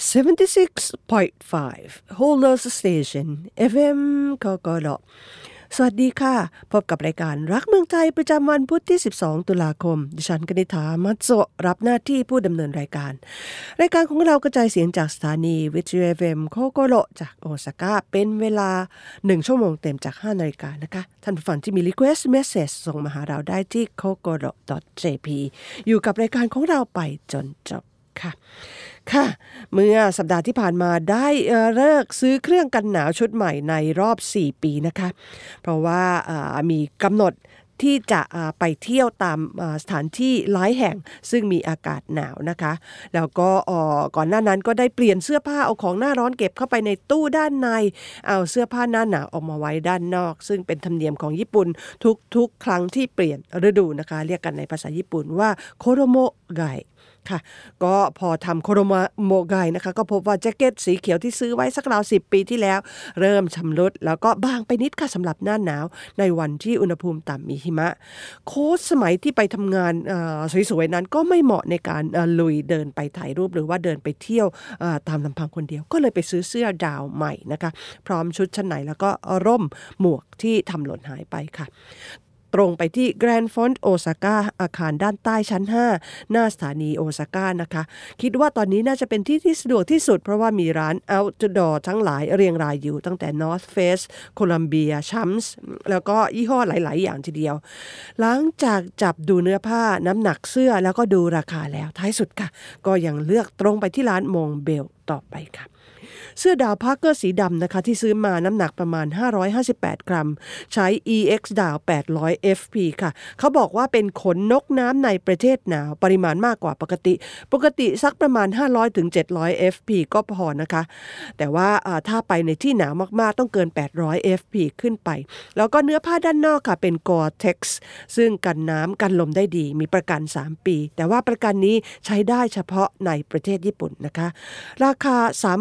76.5 Holders Station FM กกรสวัสดีค่ะพบกับรายการรักเมืองไทยประจำวันพุธที่12ตุลาคมดิฉันกนิษฐามัตโซรับหน้าที่ผู้ดำเนินรายการของเรากระจายเสียงจากสถานีวิทยุ FM โคโกโรจากโอซาก้าเป็นเวลา1ชั่วโมงเต็มจาก5 นาฬิกานะคะท่านผู้ฟังที่มี request message ส่งมาหาเราได้ที่ kokoro.jp อยู่กับรายการของเราไปจนจบค่ะเมื่อสัปดาห์ที่ผ่านมาได้เลิกซื้อเครื่องกันหนาวชุดใหม่ในรอบ4 ปีนะคะเพราะว่ามีกำหนดที่จะไปเที่ยวตามสถานที่หลายแห่งซึ่งมีอากาศหนาวนะคะแล้วก็ก่อนหน้านั้นก็ได้เปลี่ยนเสื้อผ้าเอาของหน้าร้อนเก็บเข้าไปในตู้ด้านในเอาเสื้อผ้าหน้าหนาวออกมาไว้ด้านนอกซึ่งเป็นธรรมเนียมของญี่ปุ่นทุกครั้งที่เปลี่ยนฤดูนะคะเรียกกันในภาษาญี่ปุ่นว่าโคโรโมไกค่ะก็พอทำโคโรโมไกนะคะก็พบว่าแจ็คเก็ตสีเขียวที่ซื้อไว้สักราว10 ปีที่แล้วเริ่มชำรุดแล้วก็บางไปนิดค่ะสำหรับหน้าหนาวในวันที่อุณหภูมิต่ำมีหิมะโค้ชสมัยที่ไปทำงานสวยๆนั้นก็ไม่เหมาะในการลุยเดินไปถ่ายรูปหรือว่าเดินไปเที่ยวตามลำพังคนเดียวก็เลยไปซื้อเสื้อดาวใหม่นะคะพร้อมชุดชั้นในแล้วก็ร่มหมวกที่ทำหล่นหายไปค่ะตรงไปที่ Grand Front Osaka อาคารด้านใต้ชั้น5หน้าสถานีโอซาก้านะคะคิดว่าตอนนี้น่าจะเป็นที่สะดวกที่สุดเพราะว่ามีร้าน outdoor ทั้งหลายเรียงรายอยู่ตั้งแต่ North Face Columbia Champs แล้วก็ยี่ห้อหลายๆอย่างทีเดียวหลังจากจับดูเนื้อผ้าน้ำหนักเสื้อแล้วก็ดูราคาแล้วท้ายสุดค่ะก็ยังเลือกตรงไปที่ร้านมงเบลต่อไปค่ะเสื้อดาวพาร์เกอร์สีดำนะคะที่ซื้อมาน้ำหนักประมาณ558 กรัมใช้ EX ดาว800 FP ค่ะเขาบอกว่าเป็นขนนกน้ำในประเทศหนาวปริมาณมากกว่าปกติสักประมาณ500 ถึง 700 FP ก็พอนะคะแต่ว่าถ้าไปในที่หนาวมากๆต้องเกิน800 FP ขึ้นไปแล้วก็เนื้อผ้าด้านนอกค่ะเป็น Gore-Tex ซึ่งกันน้ำกันลมได้ดีมีประกัน3 ปีแต่ว่าประกันนี้ใช้ได้เฉพาะในประเทศญี่ปุ่นนะคะราคา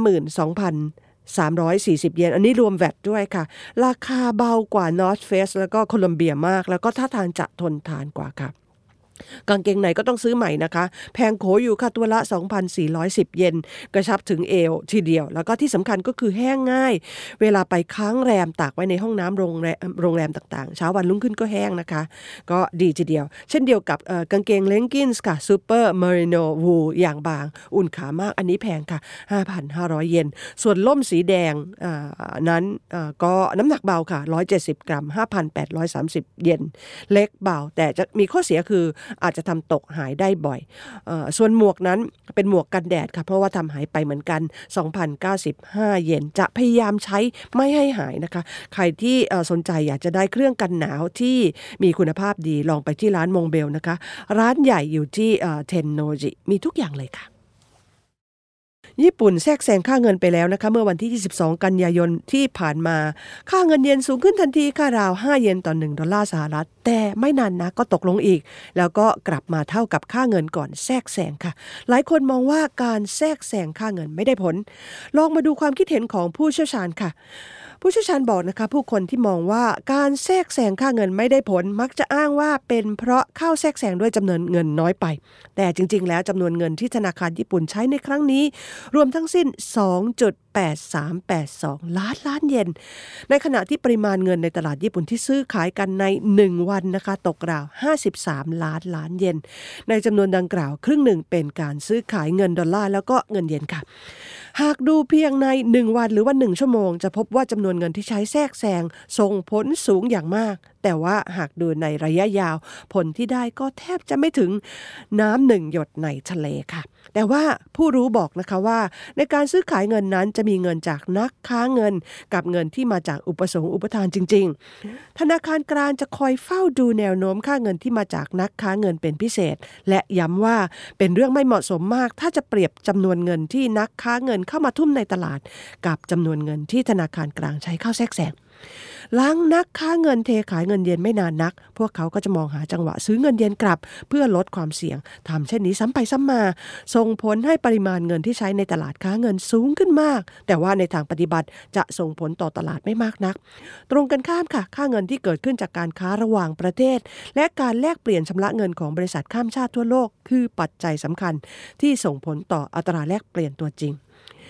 32,340 เยนอันนี้รวมแวตด้วยค่ะราคาเบากว่า North Face แล้วก็โคลัมเบียมากแล้วก็ท่าทางจะทนทานกว่าค่ะกางเกงในก็ต้องซื้อใหม่นะคะแพงโขอยู่ค่ะตัวละ 2,410 เยนกระชับถึงเอวทีเดียวแล้วก็ที่สำคัญก็คือแห้งง่ายเวลาไปค้างแรมตากไว้ในห้องน้ำโรงแรมต่างๆเช้าวันรุ่งขึ้นก็แห้งนะคะก็ดีทีเดียวเช่นเดียวกับกางเกงเลงกินส์ค่ะซูเปอร์เมริโนวูลอย่างบางอุ่นขามากอันนี้แพงค่ะ 5,500 เยนส่วนล่มสีแดงนั้นก็น้ำหนักเบาค่ะ170 กรัม 5,830 เยนเล็กเบาแต่จะมีข้อเสียคืออาจจะทำตกหายได้บ่อยส่วนหมวกนั้นเป็นหมวกกันแดดค่ะเพราะว่าทำหายไปเหมือนกัน 2,095 เยนจะพยายามใช้ไม่ให้หายนะคะใครที่สนใจอยากจะได้เครื่องกันหนาวที่มีคุณภาพดีลองไปที่ร้านมงเบลนะคะร้านใหญ่อยู่ที่เทนโนจิมีทุกอย่างเลยค่ะญี่ปุ่นแทรกแซงค่าเงินไปแล้วนะคะเมื่อวันที่22 กันยายนที่ผ่านมาค่าเงินเยนสูงขึ้นทันทีค่ะราว5 เยนต่อ1 ดอลลาร์สหรัฐแต่ไม่นานนะก็ตกลงอีกแล้วก็กลับมาเท่ากับค่าเงินก่อนแทรกแซงค่ะหลายคนมองว่าการแทรกแซงค่าเงินไม่ได้ผลลองมาดูความคิดเห็นของผู้เชี่ยวชาญค่ะผู้เชี่ยวชาญบอกนะคะผู้คนที่มองว่าการแทรกแซงค่าเงินไม่ได้ผลมักจะอ้างว่าเป็นเพราะเข้าแทรกแซงด้วยจำนวนเงินน้อยไปแต่จริงๆแล้วจำนวนเงินที่ธนาคารญี่ปุ่นใช้ในครั้งนี้รวมทั้งสิ้น 2.8382 ล้านเยนในขณะที่ปริมาณเงินในตลาดญี่ปุ่นที่ซื้อขายกันใน1วันนะคะตกราว53 ล้านเยนในจำนวนดังกล่าวครึ่งหนึ่งเป็นการซื้อขายเงินดอลลาร์แล้วก็เงินเยนค่ะหากดูเพียงใน1วันหรือว่า1ชั่วโมงจะพบว่าจำนวนเงินที่ใช้แทรกแซงส่งผลสูงอย่างมากแต่ว่าหากดูในระยะยาวผลที่ได้ก็แทบจะไม่ถึงน้ำ1 หยดในทะเลค่ะแต่ว่าผู้รู้บอกนะคะว่าในการซื้อขายเงินนั้นจะมีเงินจากนักค้าเงินกับเงินที่มาจากอุปสงค์อุปทานจริงๆธนาคารกลางจะคอยเฝ้าดูแนวโน้มค่าเงินที่มาจากนักค้าเงินเป็นพิเศษและย้ำว่าเป็นเรื่องไม่เหมาะสมมากถ้าจะเปรียบจำนวนเงินที่นักค้าเงินเข้ามาทุ่มในตลาดกับจำนวนเงินที่ธนาคารกลางใช้เข้าแทรกแซงหลังนักค้าเงินเทขายเงินเยนไม่นานนักพวกเขาก็จะมองหาจังหวะซื้อเงินเยนกลับเพื่อลดความเสี่ยงทำเช่นนี้ซ้ำไปซ้ำมาส่งผลให้ปริมาณเงินที่ใช้ในตลาดค้าเงินสูงขึ้นมากแต่ว่าในทางปฏิบัติจะส่งผลต่อตลาดไม่มากนักตรงกันข้ามค่ะค่าเงินที่เกิดขึ้นจากการค้าระหว่างประเทศและการแลกเปลี่ยนชำระเงินของบริษัทข้ามชาติทั่วโลกคือปัจจัยสำคัญที่ส่งผลต่ออัตราแลกเปลี่ยนตัวจริง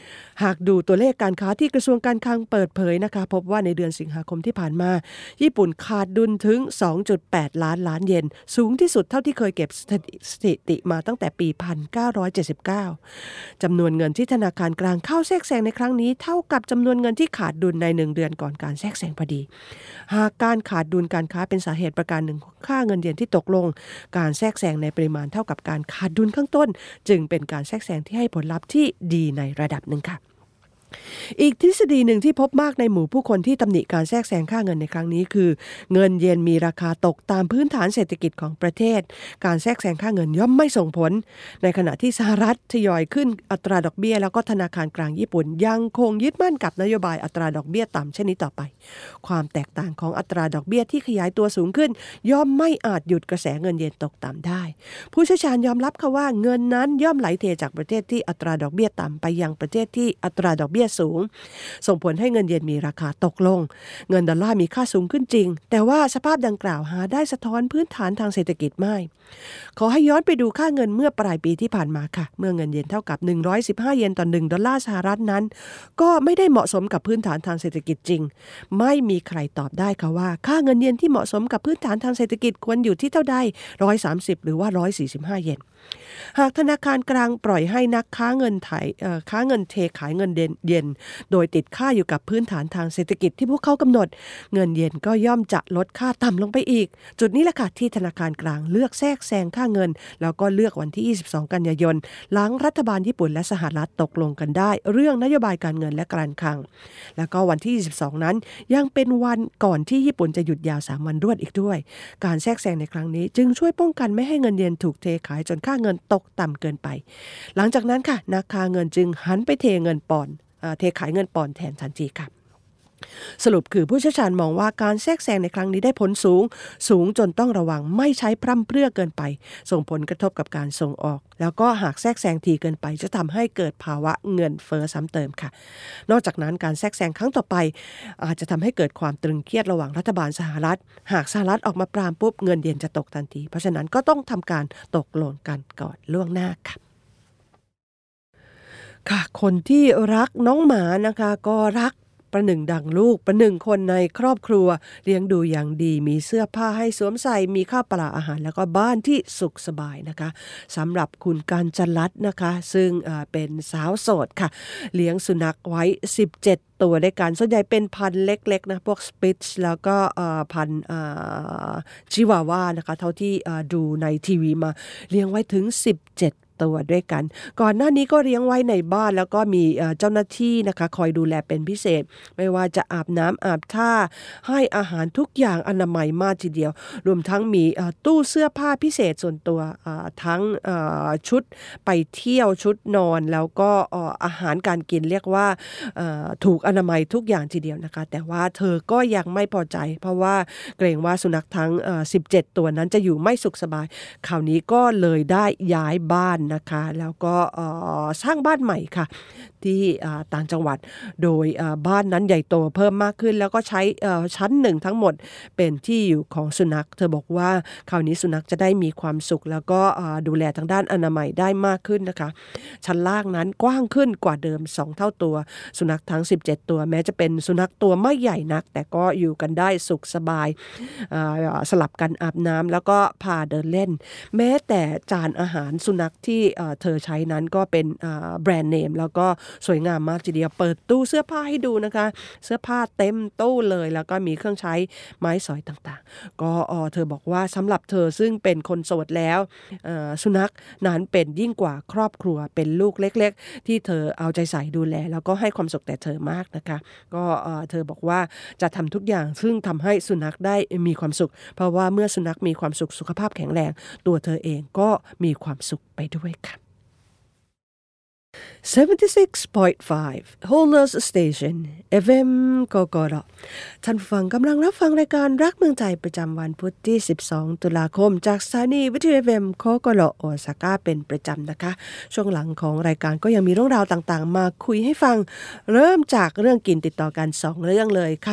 หากดูตัวเลขการค้าที่กระทรวงการคลังเปิดเผยนะคะพบว่าในเดือนสิงหาคมที่ผ่านมาญี่ปุ่นขาดดุลถึง 2.8 ล้านเยนสูงที่สุดเท่าที่เคยเก็บสถิติมาตั้งแต่ปี 1979 จำนวนเงินที่ธนาคารกลางเข้าแทรกแซงในครั้งนี้เท่ากับจำนวนเงินที่ขาดดุลใน1 เดือนก่อนการแทรกแซงพอดีหากการขาดดุลการค้าเป็นสาเหตุประการหนึ่งของค่าเงินเยนที่ตกลงการแทรกแซงในปริมาณเท่ากับการขาดดุลข้างต้นจึงเป็นการแทรกแซงที่ให้ผลลัพธ์ที่ดีในระดับหนึ่งค่ะอีกทฤษฎีหนึ่งที่พบมากในหมู่ผู้คนที่ตำหนิการแทรกแซงค่าเงินในครั้งนี้คือเงินเยนมีราคาตกตามพื้นฐานเศรษฐกิจของประเทศการแทรกแซงค่าเงินย่อมไม่ส่งผลในขณะที่สหรัฐทยอยขึ้นอัตราดอกเบี้ยแล้วก็ธนาคารกลางญี่ปุ่นยังคงยึดมั่นกับนโยบายอัตราดอกเบี้ยต่ำเช่นนี้ต่อไปความแตกต่างของอัตราดอกเบี้ยที่ขยายตัวสูงขึ้นย่อมไม่อาจหยุดกระแสเงินเยนตกต่ำได้ผู้เชี่ยวชาญยอมรับค่ะว่าเงินนั้นย่อมไหลเทจากประเทศที่อัตราดอกเบี้ยต่ำไปยังประเทศที่อัตราดอกเบี้ยสูงส่งผลให้เงินเยนมีราคาตกลงเงินดอลลาร์มีค่าสูงขึ้นจริงแต่ว่าสภาพดังกล่าวหาได้สะท้อนพื้นฐานทางเศรษฐกิจไม่ขอให้ย้อนไปดูค่าเงินเมื่อปลายปีที่ผ่านมาค่ะเมื่อเงินเยนเท่ากับ115เยนต่อ1ดอลลาร์สหรัฐนั้นก็ไม่ได้เหมาะสมกับพื้นฐานทางเศรษฐกิจจริงไม่มีใครตอบได้ค่ะว่าค่าเงินเยนที่เหมาะสมกับพื้นฐานทางเศรษฐกิจควรอยู่ที่เท่าใด130หรือว่า145เยนหากธนาคารกลางปล่อยให้นักค้าเงินเทขายเงินเยนโดยติดค่าอยู่กับพื้นฐานทางเศรษฐกิจที่พวกเขากำหนดเงินเยนก็ย่อมจะลดค่าต่ำลงไปอีกจุดนี้แหละค่ะที่ธนาคารกลางเลือกแทรกแซงค่าเงินแล้วก็เลือกวันที่22กันยายนหลังรัฐบาลญี่ปุ่นและสหรัฐตกลงกันได้เรื่องนโยบายการเงินและการคลังแล้วก็วันที่22นั้นยังเป็นวันก่อนที่ญี่ปุ่นจะหยุดยาว3วันรวดอีกด้วยการแทรกแซงในครั้งนี้จึงช่วยป้องกันไม่ให้เงินเยนถูกเทขายจนค่าเงินตกต่ำเกินไปหลังจากนั้นค่ะนักค้าเงินจึงหันไปเทขายเงินปอนด์แทนทันทีค่ะสรุปคือผู้เชี่ยวชาญมองว่าการแทรกแซงในครั้งนี้ได้ผลสูงจนต้องระวังไม่ใช้พร่ำเพรื่อเกินไปส่งผลกระทบกับการส่งออกแล้วก็หากแทรกแซงทีเกินไปจะทำให้เกิดภาวะเงินเฟ้อซ้ำเติมค่ะนอกจากนั้นการแทรกแซงครั้งต่อไปอาจจะทำให้เกิดความตรึงเครียดระหว่างรัฐบาลสหรัฐหากสหรัฐออกมาปรามปุ๊บเงินเยนจะตกทันทีเพราะฉะนั้นก็ต้องทำการตกลงกันก่อนล่วงหน้าค่ะคนที่รักน้องหมานะคะก็รักประหนึ่งดังลูกประหนึ่งคนในครอบครัวเลี้ยงดูอย่างดีมีเสื้อผ้าให้สวมใส่มีข้าวปลาอาหารแล้วก็บ้านที่สุขสบายนะคะสำหรับคุณกาญจรัตน์นะคะซึ่งเป็นสาวโสดค่ะเลี้ยงสุนัขไว้17ตัวด้วยกันส่วนใหญ่เป็นพันธุ์เล็กๆนะพวกสปิตซ์แล้วก็พันธุ์ชิวาว่านะคะเท่าที่ดูในทีวีมาเลี้ยงไว้ถึง17ตัวด้วยกันก่อนหน้านี้ก็เลี้ยงไว้ในบ้านแล้วก็มีเจ้าหน้าที่นะคะคอยดูแลเป็นพิเศษไม่ว่าจะอาบน้ำอาบท่าให้อาหารทุกอย่างอนามัยมากทีเดียวรวมทั้งมีตู้เสื้อผ้าพิเศษส่วนตัวทั้งชุดไปเที่ยวชุดนอนแล้วก็อาหารการกินเรียกว่าถูกอนามัยทุกอย่างทีเดียวนะคะแต่ว่าเธอก็ยังไม่พอใจเพราะว่าเกรงว่าสุนัขทั้ง17ตัวนั้นจะอยู่ไม่สุขสบายคราวนี้ก็เลยได้ย้ายบ้านนะคะแล้วก็สร้างบ้านใหม่ค่ะที่ต่างจังหวัดโดยบ้านนั้นใหญ่โตเพิ่มมากขึ้นแล้วก็ใช้ชั้นหนึ่งทั้งหมดเป็นที่อยู่ของสุนัขเธอบอกว่าคราวนี้สุนัขจะได้มีความสุขแล้วก็ดูแลทางด้านอนามัยได้มากขึ้นนะคะชั้นล่างนั้นกว้างขึ้นกว่าเดิม2เท่าตัวสุนัขทั้ง17ตัวแม้จะเป็นสุนัขตัวไม่ใหญ่นักแต่ก็อยู่กันได้สุขสบายสลับกันอาบน้ำแล้วก็พาเดินเล่นแม้แต่จานอาหารสุนัขที่เธอใช้นั้นก็เป็นแบรนด์เนมแล้วก็สวยงามมากทีเดียวเปิดตู้เสื้อผ้าให้ดูนะคะเสื้อผ้าเต็มตู้เลยแล้วก็มีเครื่องใช้ไม้สอยต่างๆก็เธอบอกว่าสำหรับเธอซึ่งเป็นคนโสดแล้วสุนัขนั้นเป็นยิ่งกว่าครอบครัวเป็นลูกเล็กๆที่เธอเอาใจใส่ดูแลแล้วก็ให้ความสุขแต่เธอมากนะคะก็เธอบอกว่าจะทำทุกอย่างซึ่งทำให้สุนัขได้มีความสุขเพราะว่าเมื่อสุนัขมีความสุขสุขภาพแข็งแรงตัวเธอเองก็มีความสุขไปด้วยค่ะ76.5 Holders Station FM กกรท่านฟังกำลังรับฟังรายการรักเมืองไทยประจำวันพุธที่12ตุลาคมจากสถานีวิทยุ FM กกรโอซาก้าเป็นประจำนะคะช่วงหลังของรายการก็ยังมีเรื่องราวต่างๆมาคุยให้ฟังเริ่มจากเรื่องกินติดต่อกัน2เรื่องเลยค่ะ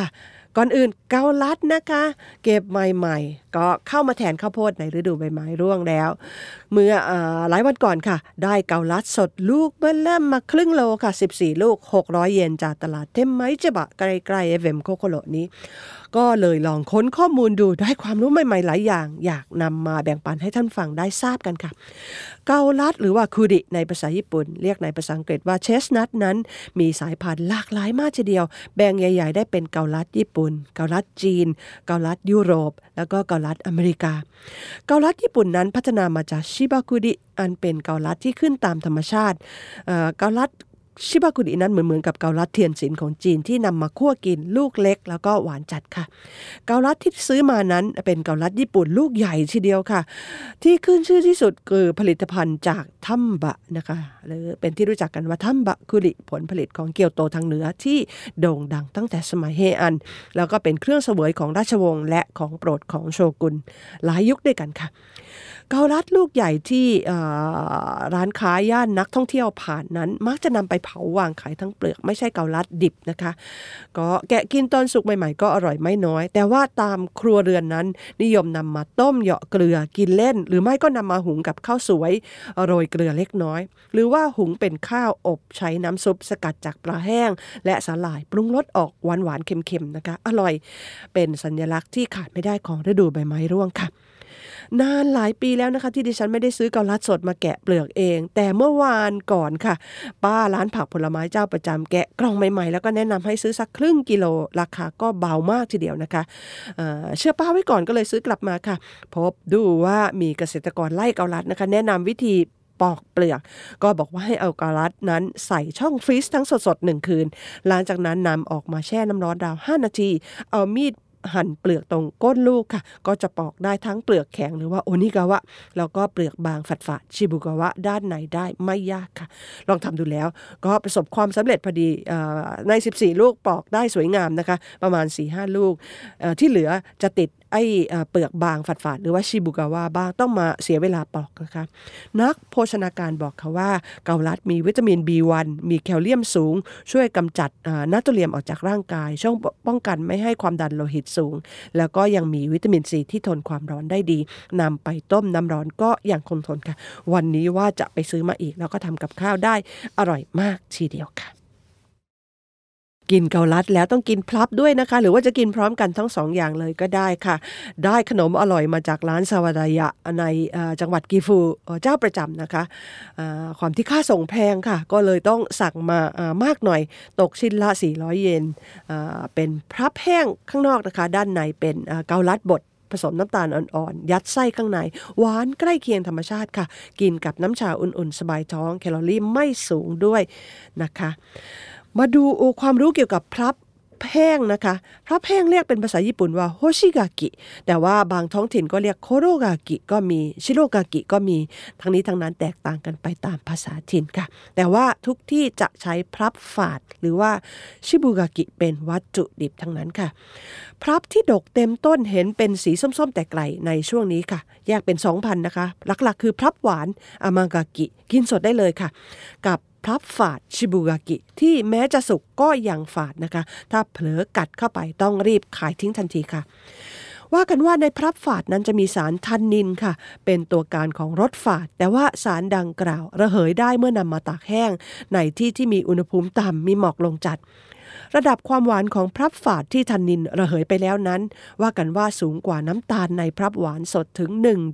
ก่อนอื่นเกาลัดนะคะเก็บใหม่ๆก็เข้ามาแทนข้าวโพดในฤดูใบไม้ร่วงแล้วเมื่อหลายวันก่อนค่ะได้เกาลัดสดลูกเบิ่มเริ่มมาครึ่งโลค่ะ14ลูก600 เยนจากตลาดเทมไมจิบะใกล้ๆเอฟเอ็มโคโคโรนี้ก็เลยลองค้นข้อมูลดูได้ความรู้ใหม่ๆหลายอย่างอยากนำมาแบ่งปันให้ท่านฟังได้ทราบกันค่ะเกาลัดหรือว่าคูดิในภาษาญี่ปุ่นเรียกในภาษาอังกฤษว่าเชสนัทนั้นมีสายพันธุ์หลากหลายมากทีเดียวแบ่งใหญ่ๆได้เป็นเกาลัดญี่ปุ่นเกาลัดจีนเกาลัดยุโรปแล้วก็เกาลัดอเมริกาเกาลัดญี่ปุ่นนั้นพัฒนามาจากชิบาคุดิอันเป็นเกาลัดที่ขึ้นตามธรรมชาติเกาลัดชิบากุดินั้นเหมือนกับเกาลัดเทียนสินของจีนที่นำมาคั่วกินลูกเล็กแล้วก็หวานจัดค่ะเกาลัดที่ซื้อมานั้นเป็นเกาลัดญี่ปุ่นลูกใหญ่ทีเดียวค่ะที่ขึ้นชื่อที่สุดคือผลิตภัณฑ์จากทัมบะนะคะหรือเป็นที่รู้จักกันว่าทัมบะคุริผลผลิตของเกียวโตทางเหนือที่โด่งดังตั้งแต่สมัยเฮอันแล้วก็เป็นเครื่องเสวยของราชวงศ์และของโปรดของโชกุนหลายยุคด้วยกันค่ะเกาลัดลูกใหญ่ที่ร้านค้าย่านนักท่องเที่ยวผ่านนั้นมักจะนำไปเผาวางขายทั้งเปลือกไม่ใช่เกาลัดดิบนะคะก็แกะกินตอนสุกใหม่ๆก็อร่อยไม่น้อยแต่ว่าตามครัวเรือนนั้นนิยมนำมาต้มเหยาะเกลือกินเล่นหรือไม่ก็นำมาหุงกับข้าวสวยโรยเกลือเล็กน้อยหรือว่าหุงเป็นข้าวอบใช้น้ำซุปสกัดจากปลาแห้งและสาหร่ายปรุงรสออกหวานๆเค็มๆนะคะอร่อยเป็นสัญลักษณ์ที่ขาดไม่ได้ของฤดูใบไม้ร่วงค่ะนานหลายปีแล้วนะคะที่ดิฉันไม่ได้ซื้อเกาลัดสดมาแกะเปลือกเองแต่เมื่อวานก่อนค่ะป้าร้านผักผลไม้เจ้าประจำแกะกล่องใหม่ๆแล้วก็แนะนำให้ซื้อสักครึ่งกิโลราคาก็เบามากทีเดียวนะคะเชื่อป้าไว้ก่อนก็เลยซื้อกลับมาค่ะพบดูว่ามีเกษตรกรไล่เกาลัดนะคะแนะนำวิธีปอกเปลือกก็บอกว่าให้เอาเกาลัดนั้นใส่ช่องฟรีซทั้งสดๆ1 คืนหลังจากนั้นนำออกมาแช่น้ำร้อนราว5 นาทีเอามีดหั่นเปลือกตรงก้นลูกค่ะก็จะปอกได้ทั้งเปลือกแข็งหรือว่าโอนิกาวะแล้วก็เปลือกบางฝาดๆชิบุกาวะด้านในได้ไม่ยากค่ะลองทำดูแล้วก็ประสบความสำเร็จพอดีใน14ลูกปอกได้สวยงามนะคะประมาณ 4-5 ลูกที่เหลือจะติดเปลือกบางฝาดๆหรือว่าชิบุกาวะบ้างต้องมาเสียเวลาปอกนะคะนักโภชนาการบอกค่ะว่าเกาลัดมีวิตามิน B1 มีแคลเซียมสูงช่วยกำจัดนาโตรเลียมออกจากร่างกายช่วยป้องกันไม่ให้ความดันโลหิตสูงแล้วก็ยังมีวิตามินซีที่ทนความร้อนได้ดีนำไปต้มน้ำร้อนก็ยังคงทนค่ะวันนี้ว่าจะไปซื้อมาอีกแล้วก็ทำกับข้าวได้อร่อยมากทีเดียวค่ะกินเกาลัดแล้วต้องกินพลับด้วยนะคะหรือว่าจะกินพร้อมกันทั้ง2 อย่างเลยก็ได้ค่ะได้ขนมอร่อยมาจากร้านซาวดายะในจังหวัดกิฟูเจ้าประจำนะคะความที่ค่าส่งแพงค่ะก็เลยต้องสั่งมามากหน่อยตกชิ้นละ400 เยนเป็นพลับแห้งข้างนอกนะคะด้านในเป็นเกาลัดบดผสมน้ำตาลอ่อนๆยัดไส้ข้างในหวานใกล้เคียงธรรมชาติค่ะกินกับน้ำชาอุ่นๆสบายท้องแคลอรี่ไม่สูงด้วยนะคะมาดูความรู้เกี่ยวกับพลับแห้งนะคะพลับแห้งเรียกเป็นภาษาญี่ปุ่นว่าโฮชิกากิแต่ว่าบางท้องถิ่นก็เรียกโคโรกากิก็มีชิโรกากิก็มีทั้งนี้ทั้งนั้นแตกต่างกันไปตามภาษาถิ่นค่ะแต่ว่าทุกที่จะใช้พลับฝาดหรือว่าชิบุกากิเป็นวัตถุดิบทั้งนั้นค่ะพลับที่ดกเต็มต้นเห็นเป็นสีส้มๆแต่ไกลในช่วงนี้ค่ะแยกเป็น 2,000 นะคะหลักๆคือพลับหวานอามากากิกินสดได้เลยค่ะกับพลับฝาดชิบุกากิที่แม้จะสุกก็ยังฝาดนะคะถ้าเผลอกัดเข้าไปต้องรีบขายทิ้งทันทีค่ะว่ากันว่าในพลับฝาดนั้นจะมีสารทันนินค่ะเป็นตัวการของรสฝาดแต่ว่าสารดังกล่าวระเหยได้เมื่อนำมาตากแห้งในที่ที่มีอุณหภูมิต่ำมีหมอกลงจัดระดับความหวานของพลับฝาดที่ทันนินระเหยไปแล้วนั้นว่ากันว่าสูงกว่าน้ำตาลในพลับหวานสดถึง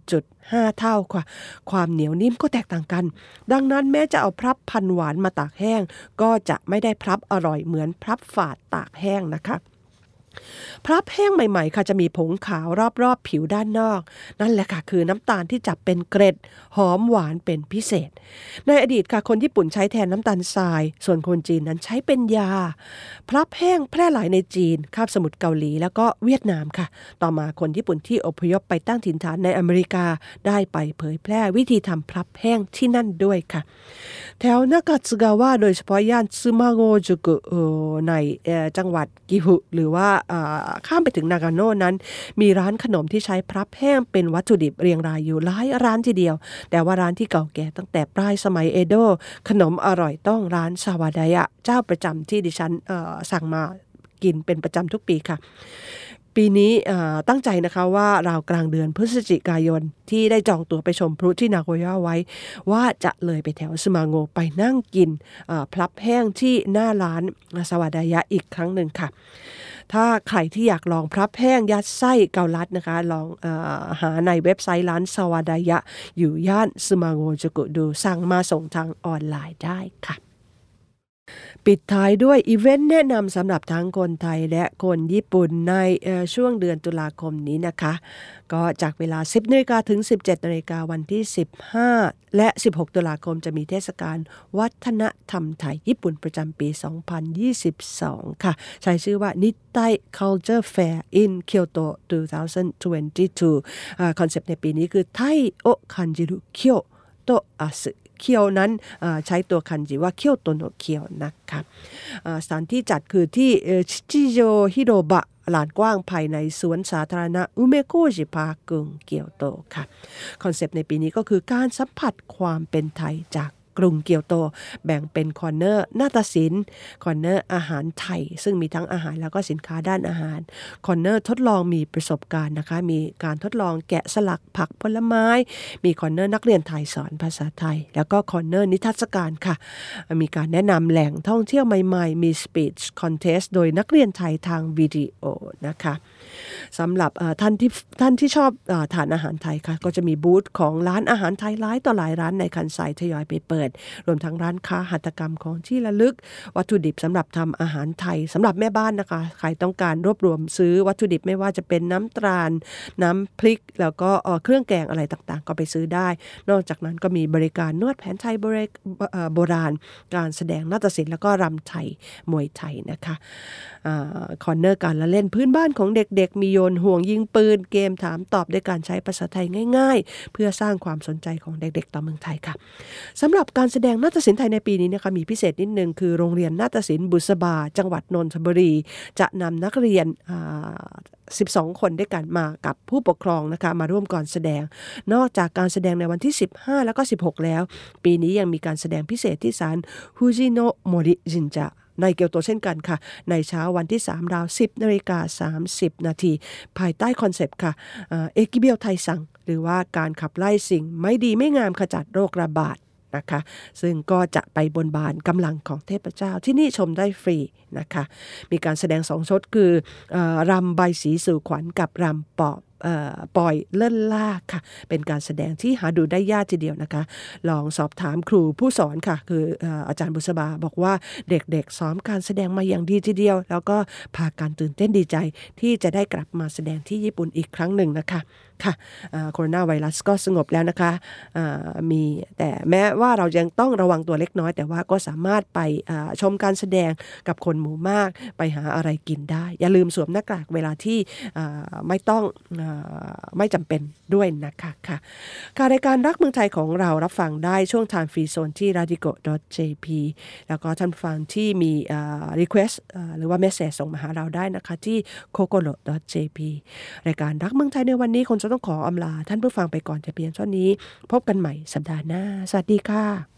1.5 เท่าค่ะความเหนียวนิ่มก็แตกต่างกันดังนั้นแม้จะเอาพลับพันหวานมาตากแห้งก็จะไม่ได้พลับอร่อยเหมือนพลับฝาดตากแห้งนะคะพลับแห้งใหม่ๆค่ะจะมีผงขาวรอบๆผิวด้านนอกนั่นแหละค่ะคือน้ำตาลที่จับเป็นเกร็ดหอมหวานเป็นพิเศษในอดีตค่ะคนญี่ปุ่นใช้แทนน้ำตาลทรายส่วนคนจีนนั้นใช้เป็นยาพลับแห้งแพร่หลายในจีนคาบสมุทรเกาหลีแล้วก็เวียดนามค่ะต่อมาคนญี่ปุ่นที่อพยพไปตั้งถิ่นฐานในอเมริกาได้ไปเผยแพร่วิธีทำพลับแห้งที่นั่นด้วยค่ะแถวนากาสึกาวะโดยเฉพาะย่านซึมาโงจุกุในจังหวัดกิฮุหรือว่าข้ามไปถึงนากาโน่นั้นมีร้านขนมที่ใช้พลับแห้งเป็นวัตถุดิบเรียงรายอยู่หลายร้านทีเดียวแต่ว่าร้านที่เก่าแก่ตั้งแต่ปลายสมัยเอโดะขนมอร่อยต้องร้านซาวาดายะเจ้าประจำที่ดิฉันสั่งมากินเป็นประจำทุกปีค่ะปีนี้ตั้งใจนะคะว่าราวกลางเดือนพฤศจิกายนที่ได้จองตั๋วไปชมพลุที่นาโกย่าไว้ว่าจะเลยไปแถวซึมาโงไปนั่งกินพลับแห้งที่หน้าร้านสวาดายะอีกครั้งหนึ่งค่ะถ้าใครที่อยากลองพลับแห้งยัดไส้เกาลัดนะคะลองหาในเว็บไซต์ร้านสวาดายะอยู่ย่านซึมาโงจูกุดูสั่งมาส่งทางออนไลน์ได้ค่ะปิดท้ายด้วยอีเวนต์แนะนำสำหรับทั้งคนไทยและคนญี่ปุ่นในช่วงเดือนตุลาคมนี้นะคะก็จากเวลา 10 นาฬิกาถึง 17 นาฬิกาวันที่ 15 และ 16 ตุลาคมจะมีเทศกาลวัฒนธรรมไทยญี่ปุ่นประจำปี 2022 ค่ะใช้ชื่อว่า Nittai Culture Fair in Kyoto 2022 คอนเซปต์ในปีนี้คือไทโอคันจิรุเคียวโตอาสึเคียวนั้นใช้ตัวคันจิว่าเคียวโตโนเคียวนะคะสถานที่จัดคือที่ชิจิโยฮิโรบะลานกว้างภายในสวนสาธารณะอุเมโกจิพาร์คกรุงเกียวโตค่ะคอนเซปต์ในปีนี้ก็คือการสัมผัสความเป็นไทยจากกรุงเกียวโตแบ่งเป็นคอร์เนอร์นาฏศิลป์คอร์เนอร์อาหารไทยซึ่งมีทั้งอาหารแล้วก็สินค้าด้านอาหารคอร์เนอร์ทดลองมีประสบการณ์นะคะมีการทดลองแกะสลักผักผลไม้มีคอร์เนอร์นักเรียนไทยสอนภาษาไทยแล้วก็คอร์เนอร์นิทรรศการค่ะมีการแนะนำแหล่งท่องเที่ยวใหม่ๆมีสปีชคอนเทสต์โดยนักเรียนไทยทางวิดีโอนะคะสำหรับท่านที่ชอบทานอาหารไทยค่ะก็จะมีบูธของร้านอาหารไทยหลายต่อหลายร้านในคันไซทยอยไปเปิดรวมทั้งร้านค้าหัตถกรรมของที่ระลึกวัตถุดิบสำหรับทำอาหารไทยสำหรับแม่บ้านนะคะใครต้องการรวบรวมซื้อวัตถุดิบไม่ว่าจะเป็นน้ำตาลน้ำพริกแล้วก็เครื่องแกงอะไรต่างๆก็ไปซื้อได้นอกจากนั้นก็มีบริการนวดแผนไทยโบราณการแสดงนาฏศิลป์แล้วก็รำไทยมวยไทยนะคะคอร์เนอร์การละเล่นพื้นบ้านของเด็กๆมีโยนห่วงยิงปืนเกมถามตอบด้วยการใช้ภาษาไทยง่ายๆเพื่อสร้างความสนใจของเด็กๆต่อเมืองไทยค่ะสำหรับการแสดงนาฏศิลป์ไทยในปีนี้นะคะมีพิเศษนิดนึงคือโรงเรียนนาฏศิลป์บุษบาจังหวัดนนทบุรีจะนำนักเรียน12 คนด้วยกันมากับผู้ปกครองนะคะมาร่วมก่อนแสดงนอกจากการแสดงในวันที่15แล้วก็16แล้วปีนี้ยังมีการแสดงพิเศษที่ศาลฟูจิโนะโมริจินจะในเกียวโตเช่นกันค่ะในเช้าวันที่3ราว 10:30 นาทีภายใต้คอนเซปต์ค่ะเอกิเบียวไทซังหรือว่าการขับไล่สิ่งไม่ดีไม่งามขจัดโรคระบาดนะคะซึ่งก็จะไปบนบานกำลังของเทพเจ้าที่นี่ชมได้ฟรีนะคะมีการแสดง2 ชุดคือรำใบสีสู่ขวัญกับรำปล่อยเลิ่นล่าค่ะเป็นการแสดงที่หาดูได้ยากทีเดียวนะคะลองสอบถามครูผู้สอนค่ะคืออาจารย์บุษบาบอกว่าเด็กๆซ้อมการแสดงมาอย่างดีทีเดียวแล้วก็พาการตื่นเต้นดีใจที่จะได้กลับมาแสดงที่ญี่ปุ่นอีกครั้งหนึ่งนะคะค่ะโคโรนาไวรัสก็สงบแล้วนะคะมีแต่แม้ว่าเรายังต้องระวังตัวเล็กน้อยแต่ว่าก็สามารถไปชมการแสดงกับคนหมู่มากไปหาอะไรกินได้อย่าลืมสวมหน้ากากเวลาที่ไม่จำเป็นด้วยนะคะค่ะรายการรักเมืองไทยของเรารับฟังได้ช่วง Time Free Zone ที่ radico.jp แล้วก็ท่านฟังที่มีrequest หรือว่า message ส่งมาหาเราได้นะคะที่ kokoro.jp รายการรักเมืองไทยในวันนี้คงจะต้องขออำลาท่านผู้ฟังไปก่อนแต่เพียงเท่านี้พบกันใหม่สัปดาห์หน้าสวัสดีค่ะ